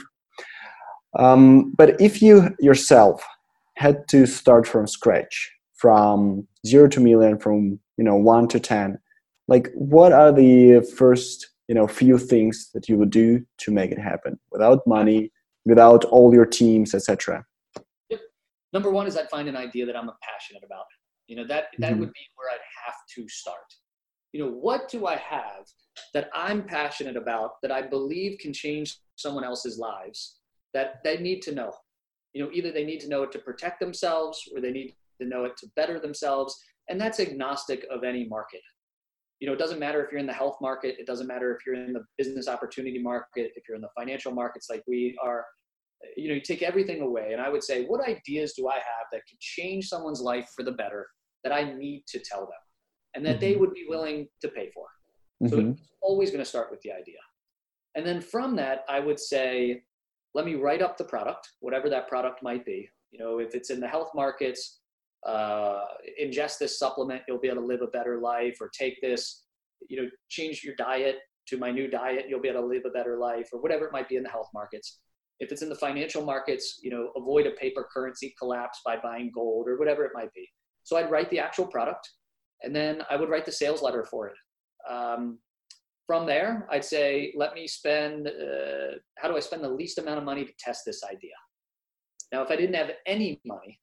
But if you yourself had to start from scratch, from 0 to million, from 1 to 10, what are the first few things that you would do to make it happen without money, without all your teams, etc.? Yep. Number one is I'd find an idea that I'm passionate about. That would be where I'd have to start. What do I have that I'm passionate about that I believe can change someone else's lives that they need to know? Either they need to know it to protect themselves, or they need to know it to better themselves. And that's agnostic of any market. It doesn't matter if you're in the health market. It doesn't matter if you're in the business opportunity market, if you're in the financial markets like we are. You take everything away. And I would say, what ideas do I have that could change someone's life for the better that I need to tell them and that they would be willing to pay for? So it's always going to start with the idea. And then from that, I would say, let me write up the product, whatever that product might be. If it's in the health markets, ingest this supplement, you'll be able to live a better life, or take this, change your diet to my new diet, you'll be able to live a better life, or whatever it might be in the health markets. If it's in the financial markets, avoid a paper currency collapse by buying gold, or whatever it might be. So I'd write the actual product, and then I would write the sales letter for it. From there, I'd say, let me spend, how do I spend the least amount of money to test this idea? Now, if I didn't have any money,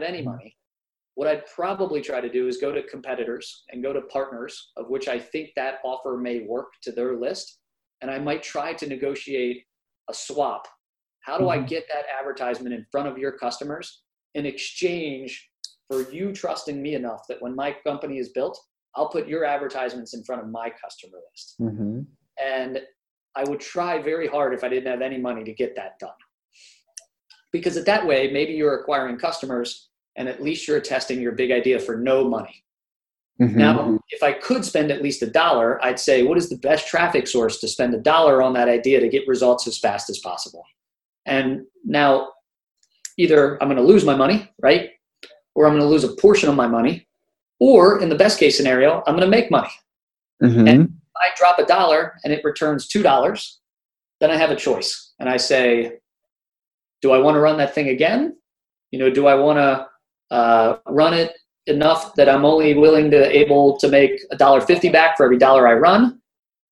what I'd probably try to do is go to competitors and go to partners of which I think that offer may work to their list. And I might try to negotiate a swap. How do I get that advertisement in front of your customers in exchange for you trusting me enough that when my company is built, I'll put your advertisements in front of my customer list. And I would try very hard, if I didn't have any money, to get that done. Because that way, maybe you're acquiring customers and at least you're testing your big idea for no money. Now, if I could spend at least $1, I'd say, what is the best traffic source to spend $1 on that idea to get results as fast as possible? And now, either I'm going to lose my money, right? Or I'm going to lose a portion of my money. Or in the best case scenario, I'm going to make money. And if I drop $1 and it returns $2, then I have a choice. And I say, do I want to run that thing again? Do I want to run it enough that I'm only able to make $1.50 back for every dollar I run?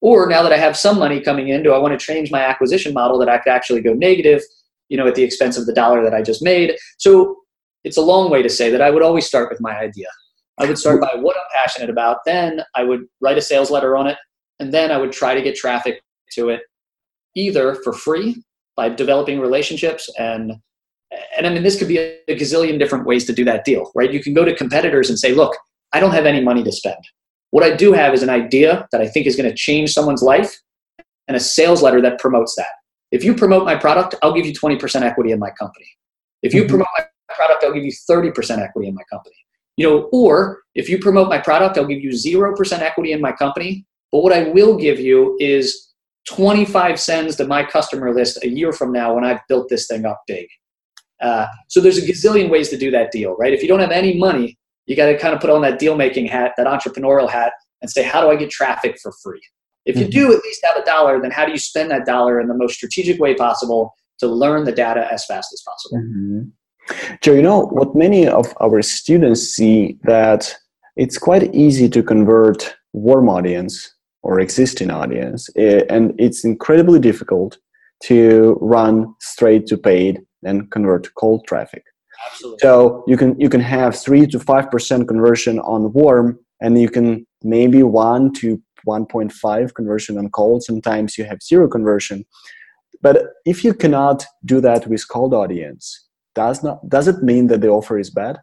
Or now that I have some money coming in, do I want to change my acquisition model that I could actually go negative, at the expense of the dollar that I just made? So it's a long way to say that I would always start with my idea. I would start by what I'm passionate about. Then I would write a sales letter on it. And then I would try to get traffic to it either for free by developing relationships. And I mean, this could be a gazillion different ways to do that deal, right? You can go to competitors and say, look, I don't have any money to spend. What I do have is an idea that I think is going to change someone's life and a sales letter that promotes that. If you promote my product, I'll give you 20% equity in my company. If you promote my product, I'll give you 30% equity in my company. Or if you promote my product, I'll give you 0% equity in my company. But what I will give you is 25 cents to my customer list a year from now when I've built this thing up big. So there's a gazillion ways to do that deal, right? If you don't have any money, you got to kind of put on that deal-making hat, that entrepreneurial hat, and say, how do I get traffic for free? If you do at least have a dollar, then how do you spend that dollar in the most strategic way possible to learn the data as fast as possible? Joe, what many of our students see that it's quite easy to convert warm audience or existing audience, and it's incredibly difficult to run straight to paid and convert to cold traffic. Absolutely. So you can have 3 to 5% conversion on warm, and you can maybe 1 to 1.5 conversion on cold. Sometimes you have 0 conversion. But if you cannot do that with cold audience, does it mean that the offer is bad?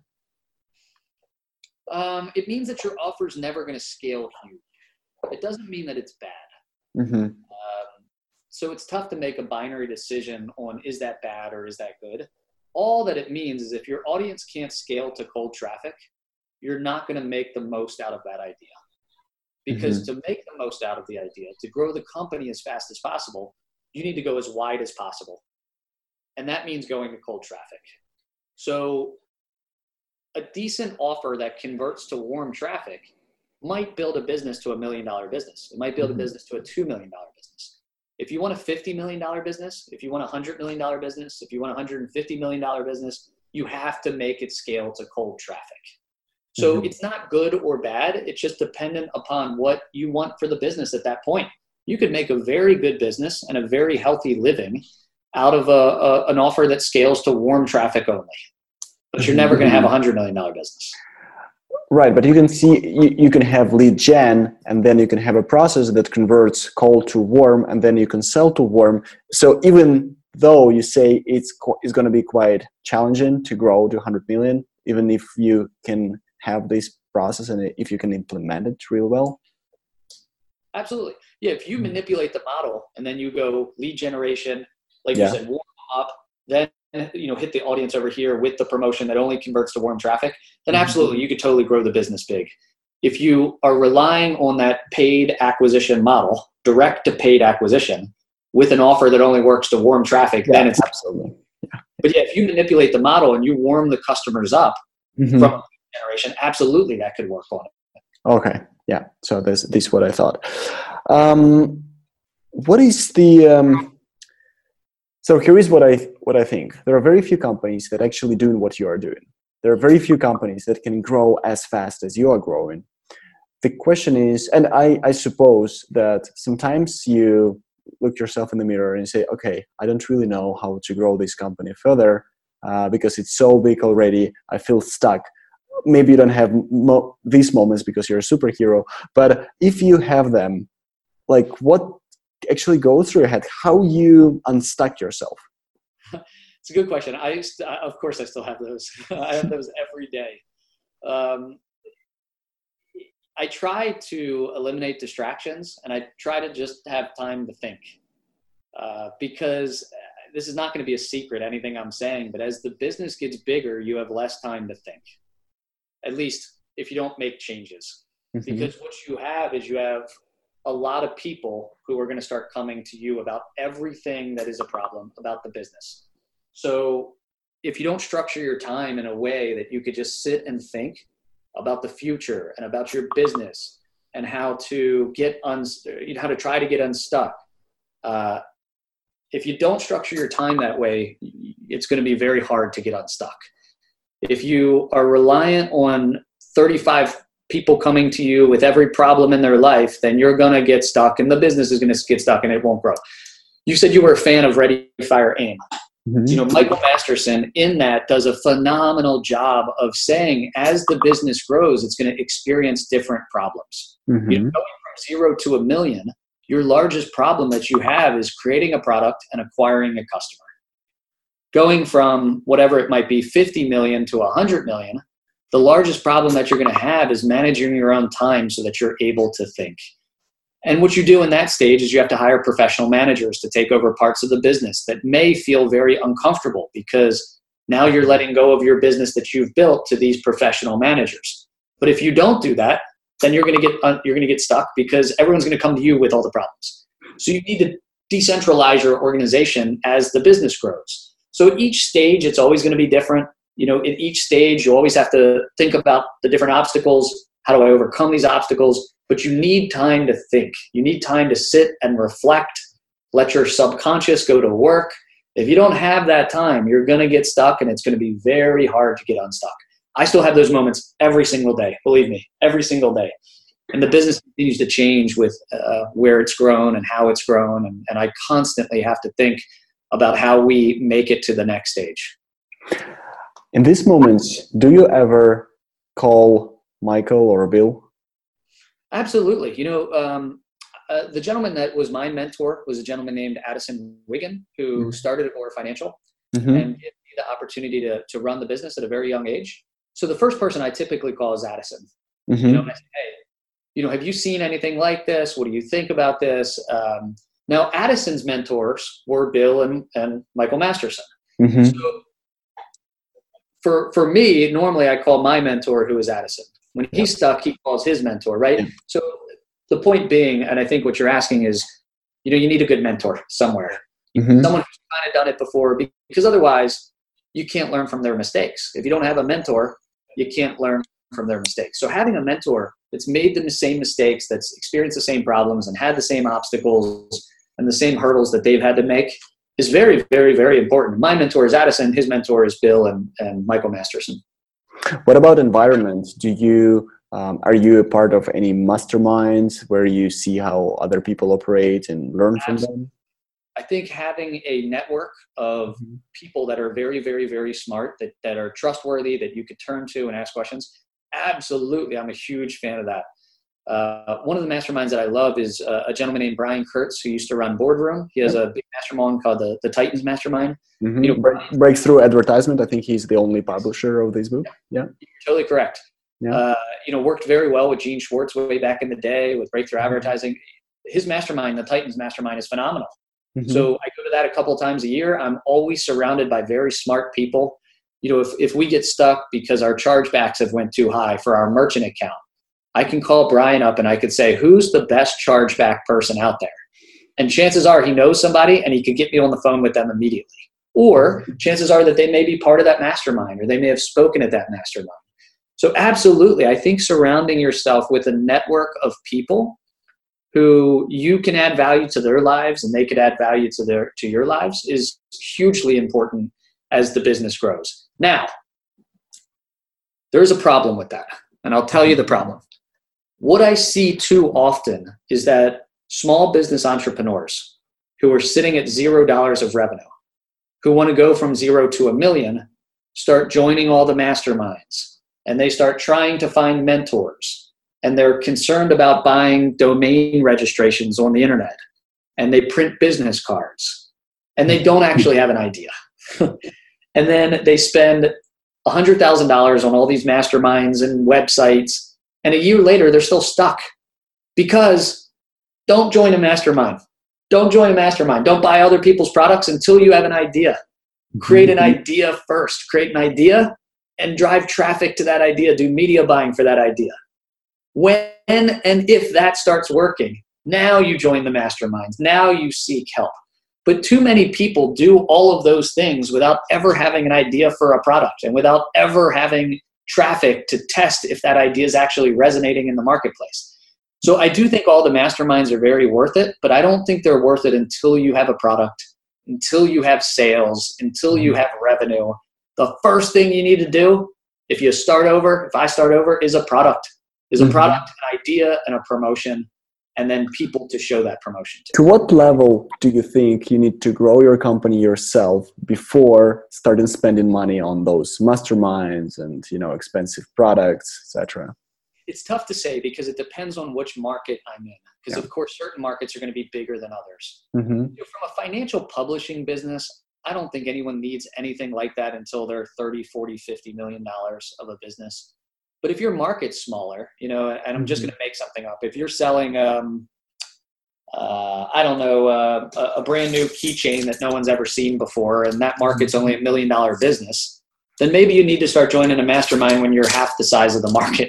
It means that your offer is never going to scale huge. It doesn't mean that it's bad. So it's tough to make a binary decision on is that bad or is that good. All that it means is if your audience can't scale to cold traffic, you're not going to make the most out of that idea. Because to make the most out of the idea, to grow the company as fast as possible, you need to go as wide as possible. And that means going to cold traffic. So a decent offer that converts to warm traffic might build a business to $1 million business. It might build a business to a $2 million business. If you want a $50 million business, if you want a $100 million business, if you want a $150 million business, you have to make it scale to cold traffic. So it's not good or bad. It's just dependent upon what you want for the business at that point. You could make a very good business and a very healthy living out of an offer that scales to warm traffic only. But you're never going to have a $100 million business. Right, but you can see, you can have lead gen, and then you can have a process that converts cold to warm, and then you can sell to warm. So even though you say it's going to be quite challenging to grow to 100 million, even if you can have this process and if you can implement it real well. Absolutely. Yeah, if you manipulate the model and then you go lead generation, like you said, warm up, then hit the audience over here with the promotion that only converts to warm traffic, then absolutely you could totally grow the business big. If you are relying on that paid acquisition model, direct to paid acquisition, with an offer that only works to warm traffic, then it's absolutely. But yeah, if you manipulate the model and you warm the customers up from generation, absolutely that could work on it. Okay. Yeah. So this is what I thought. What is the so here is what I think. There are very few companies that actually doing what you are doing. There are very few companies that can grow as fast as you are growing. The question is, and I suppose that sometimes you look yourself in the mirror and say, okay, I don't really know how to grow this company further because it's so big already. I feel stuck. Maybe you don't have these moments because you're a superhero, but if you have them, like what actually goes through your head, how you unstuck yourself? It's a good question. Of course I still have those. I have those every day. I try to eliminate distractions, and I try to just have time to think because this is not going to be a secret, anything I'm saying, but as the business gets bigger, you have less time to think, at least if you don't make changes. Because what you have is you have a lot of people who are going to start coming to you about everything that is a problem about the business. So if you don't structure your time in a way that you could just sit and think about the future and about your business and how to how to try to get unstuck, if you don't structure your time that way, it's going to be very hard to get unstuck. If you are reliant on 35 people coming to you with every problem in their life, then you're going to get stuck and the business is going to get stuck and it won't grow. You said you were a fan of Ready, Fire, Aim. Mm-hmm. Michael Masterson in that does a phenomenal job of saying as the business grows, it's going to experience different problems. Mm-hmm. Going from 0 to 1 million, your largest problem that you have is creating a product and acquiring a customer. Going from whatever it might be, 50 million to 100 million, the largest problem that you're going to have is managing your own time so that you're able to think. And what you do in that stage is you have to hire professional managers to take over parts of the business that may feel very uncomfortable because now you're letting go of your business that you've built to these professional managers. But if you don't do that, then you're going to get stuck because everyone's going to come to you with all the problems. So you need to decentralize your organization as the business grows. So at each stage, it's always going to be different. At each stage, you always have to think about the different obstacles. How do I overcome these obstacles? But you need time to think. You need time to sit and reflect, let your subconscious go to work. If you don't have that time, you're going to get stuck and it's going to be very hard to get unstuck. I still have those moments every single day, believe me, every single day. And the business continues to change with where it's grown and how it's grown. And I constantly have to think about how we make it to the next stage. In these moments, do you ever call Michael or Bill? Absolutely. The gentleman that was my mentor was a gentleman named Addison Wiggin, who started at Agora Financial and gave me the opportunity to run the business at a very young age. So the first person I typically call is Addison. I say, hey, have you seen anything like this? What do you think about this? Now, Addison's mentors were Bill and Michael Masterson. So for me, normally I call my mentor, who is Addison. When he's stuck, he calls his mentor, right? So the point being, and I think what you're asking is, you need a good mentor somewhere. Someone who's kind of done it before, because otherwise you can't learn from their mistakes. If you don't have a mentor, you can't learn from their mistakes. So having a mentor that's made the same mistakes, that's experienced the same problems and had the same obstacles and the same hurdles that they've had to make is very, very, very important. My mentor is Addison. His mentor is Bill and Michael Masterson. What about environment? Are you a part of any masterminds where you see how other people operate and learn from them? I think having a network of people that are very, very, very smart, that are trustworthy, that you could turn to and ask questions. Absolutely. I'm a huge fan of that. One of the masterminds that I love is a gentleman named Brian Kurtz, who used to run Boardroom. He has a big mastermind called the Titans Mastermind. Breakthrough Advertisement. I think he's the only publisher of this book. Yeah. You're totally correct. Yeah. Worked very well with Gene Schwartz way back in the day with Breakthrough Advertising. His mastermind, the Titans Mastermind, is phenomenal. So I go to that a couple of times a year. I'm always surrounded by very smart people. If we get stuck because our chargebacks have went too high for our merchant account, I can call Brian up and I could say, who's the best chargeback person out there? And chances are he knows somebody and he could get me on the phone with them immediately. Or chances are that they may be part of that mastermind or they may have spoken at that mastermind. So absolutely, I think surrounding yourself with a network of people who you can add value to their lives and they could add value to your lives is hugely important as the business grows. Now, there's a problem with that, and I'll tell you the problem. What I see too often is that small business entrepreneurs who are sitting at $0 of revenue, who want to go from 0 to 1 million, start joining all the masterminds, and they start trying to find mentors, and they're concerned about buying domain registrations on the internet, and they print business cards, and they don't actually have an idea. And then they spend $100,000 on all these masterminds and websites, and a year later, they're still stuck. Because don't join a mastermind. Don't join a mastermind. Don't buy other people's products until you have an idea. Create an idea first. Create an idea and drive traffic to that idea. Do media buying for that idea. When and if that starts working, now you join the masterminds. Now you seek help. But too many people do all of those things without ever having an idea for a product and without ever having traffic to test if that idea is actually resonating in the marketplace. So I do think all the masterminds are very worth it, but I don't think they're worth it until you have a product, until you have sales, until you have revenue. The first thing you need to do, if I start over, is a product. is a product, an idea, and a promotion, and then people to show that promotion to. To what level do you think you need to grow your company yourself before starting spending money on those masterminds and, expensive products, etc.? It's tough to say because it depends on which market I'm in. Because of course, certain markets are going to be bigger than others. From a financial publishing business, I don't think anyone needs anything like that until they're 30, 40, $50 million of a business. But if your market's smaller, and I'm just going to make something up. If you're selling, a brand new keychain that no one's ever seen before, and that market's only $1 million business, then maybe you need to start joining a mastermind when you're half the size of the market.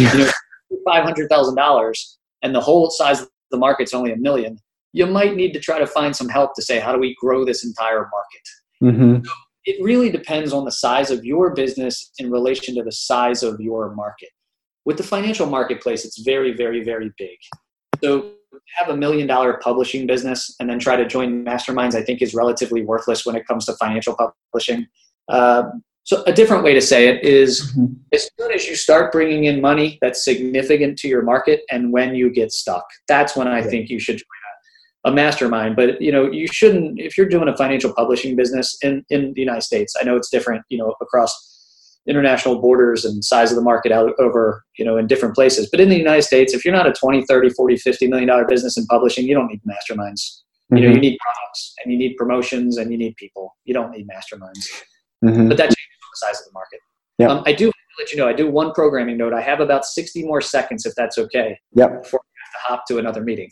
$500,000 and the whole size of the market's only $1 million. You might need to try to find some help to say, how do we grow this entire market? So it really depends on the size of your business in relation to the size of your market. With the financial marketplace, it's very, very, very big. So have $1 million publishing business and then try to join masterminds, I think is relatively worthless when it comes to financial publishing. So a different way to say it is as soon as you start bringing in money that's significant to your market and when you get stuck, that's when I think you should join a mastermind. But, you shouldn't, if you're doing a financial publishing business in the United States, I know it's different, across international borders and size of the market out over, in different places. But in the United States, if you're not a 20, 30, 40, $50 million business in publishing, you don't need masterminds. You need products and you need promotions and you need people. You don't need masterminds. But that changes the size of the market. I do let you know, I do one programming note. I have about 60 more seconds, if that's okay, before I have to hop to another meeting.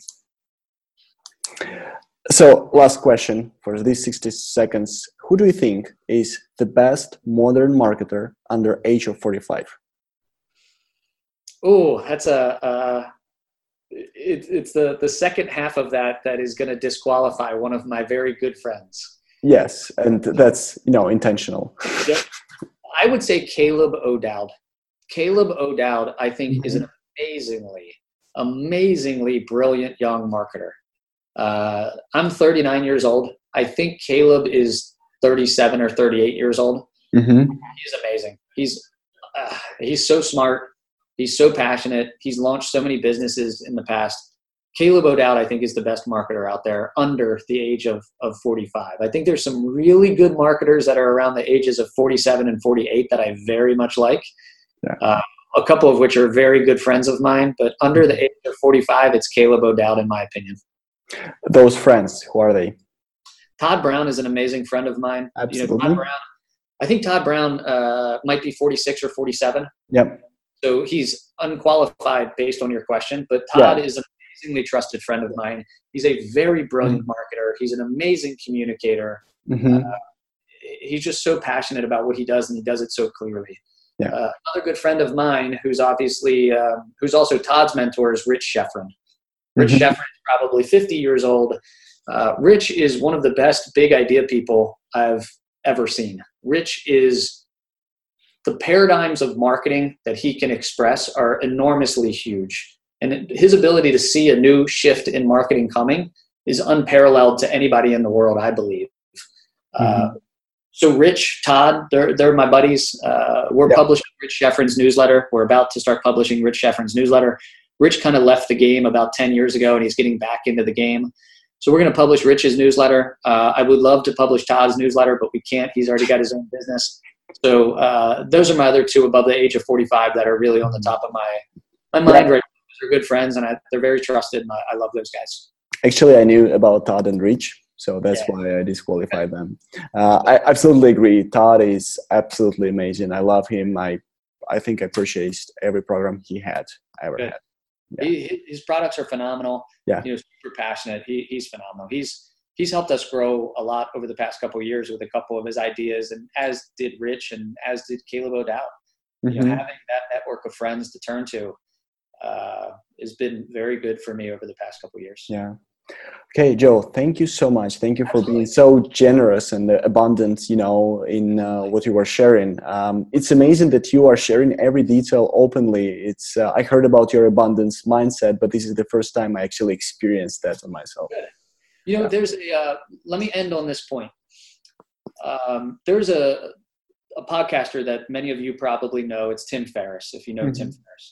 So last question for these 60 seconds. Who do you think is the best modern marketer under age of 45? Oh, that's it's the second half of that is going to disqualify one of my very good friends. Yes, and that's, intentional. Yep. I would say Caleb O'Dowd. Caleb O'Dowd, I think, is an amazingly brilliant young marketer. I'm 39 years old. I think Caleb is 37 or 38 years old. He's amazing. He's so smart. He's so passionate. He's launched so many businesses in the past. Caleb O'Dowd, I think, is the best marketer out there under the age of 45. I think there's some really good marketers that are around the ages of 47 and 48 that I very much like. A couple of which are very good friends of mine, but under the age of 45, it's Caleb O'Dowd, in my opinion. Those friends, who are they? Todd Brown is an amazing friend of mine. Absolutely. Todd Brown, I think Todd Brown might be 46 or 47. Yep. So he's unqualified based on your question, but Todd is an amazingly trusted friend of mine. He's a very brilliant marketer. He's an amazing communicator. He's just so passionate about what he does, and he does it so clearly. Another good friend of mine who's obviously, who's also Todd's mentor is Rich Schefren. Rich Schefren is probably 50 years old. Rich is one of the best big idea people I've ever seen. Rich is, the paradigms of marketing that he can express are enormously huge. And his ability to see a new shift in marketing coming is unparalleled to anybody in the world, I believe. So Rich, Todd, they're my buddies. We're publishing Rich Schefren's newsletter. We're about to start publishing Rich Schefren's newsletter. Rich kind of left the game about 10 years ago, and he's getting back into the game. So we're going to publish Rich's newsletter. I would love to publish Todd's newsletter, but we can't. He's already got his own business. So those are my other two above the age of 45 that are really on the top of my mind right now. They're good friends, and they're very trusted, and I love those guys. Actually, I knew about Todd and Rich, so that's why I disqualified them. I absolutely agree. Todd is absolutely amazing. I love him. I think I purchased every program he had ever had. Yeah. His products are phenomenal. Yeah. Super passionate. He's phenomenal. He's helped us grow a lot over the past couple of years with a couple of his ideas, and as did Rich and as did Caleb O'Dowd. Having that network of friends to turn to has been very good for me over the past couple of years. Yeah. Okay, Joe, thank you so much. Thank you for being so generous and abundant, in what you were sharing. It's amazing that you are sharing every detail openly. It's I heard about your abundance mindset, but this is the first time I actually experienced that on myself. Good. There's let me end on this point. There's a podcaster that many of you probably know. It's Tim Ferriss, if you know Tim Ferriss. Yeah.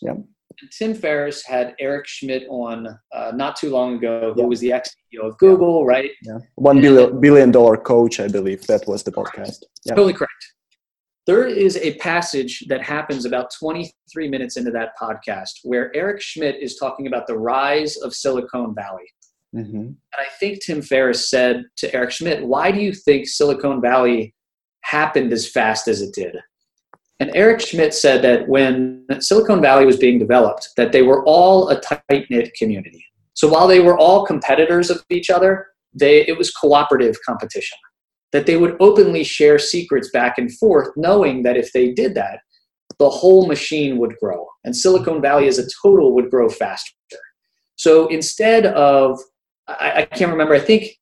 And Tim Ferriss had Eric Schmidt on not too long ago, who was the ex-CEO of Google, right? Yeah, $1 billion coach, I believe that was the podcast. Yeah. Totally correct. There is a passage that happens about 23 minutes into that podcast where Eric Schmidt is talking about the rise of Silicon Valley. Mm-hmm. And I think Tim Ferriss said to Eric Schmidt, why do you think Silicon Valley happened as fast as it did? And Eric Schmidt said that when Silicon Valley was being developed, that they were all a tight-knit community. So while they were all competitors of each other, it was cooperative competition. That they would openly share secrets back and forth, knowing that if they did that, the whole machine would grow. And Silicon Valley as a total would grow faster. So instead of, I can't remember, I think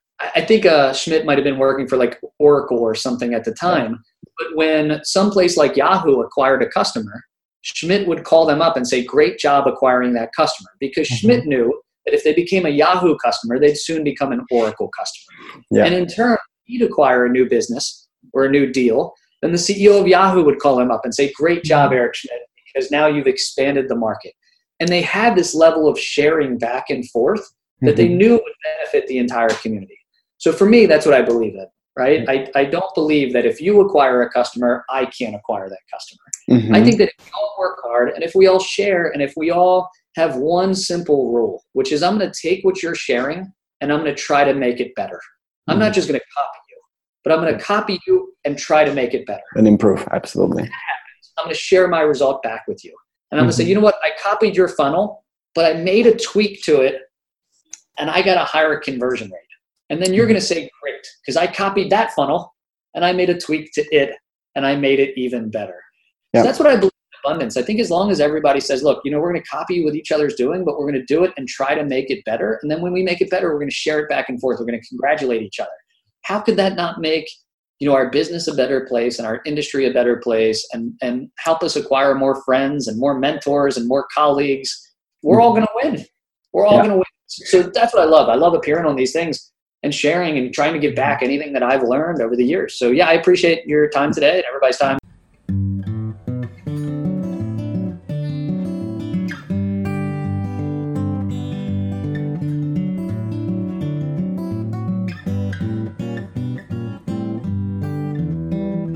Schmidt might have been working for like Oracle or something at the time. But when someplace like Yahoo acquired a customer, Schmidt would call them up and say, great job acquiring that customer. Because Schmidt knew that if they became a Yahoo customer, they'd soon become an Oracle customer. Yeah. And in turn, he'd acquire a new business or a new deal, then the CEO of Yahoo would call him up and say, great job, Eric Schmidt, because now you've expanded the market. And they had this level of sharing back and forth that they knew would benefit the entire community. So for me, that's what I believe in, right? I don't believe that if you acquire a customer, I can't acquire that customer. I think that if we all work hard and if we all share and if we all have one simple rule, which is I'm going to take what you're sharing and I'm going to try to make it better. I'm not just going to copy you, but I'm going to copy you and try to make it better. And improve, absolutely. I'm going to share my result back with you. And I'm going to say, you know what? I copied your funnel, but I made a tweak to it and I got a higher conversion rate. And then you're going to say, great, because I copied that funnel and I made a tweak to it and I made it even better. So that's what I believe in abundance. I think as long as everybody says, look, we're going to copy what each other's doing, but we're going to do it and try to make it better. And then when we make it better, we're going to share it back and forth. We're going to congratulate each other. How could that not make, our business a better place and our industry a better place and help us acquire more friends and more mentors and more colleagues? We're all going to win. We're all going to win. So that's what I love. I love appearing on these things and sharing and trying to give back anything that I've learned over the years. So I appreciate your time today and everybody's time.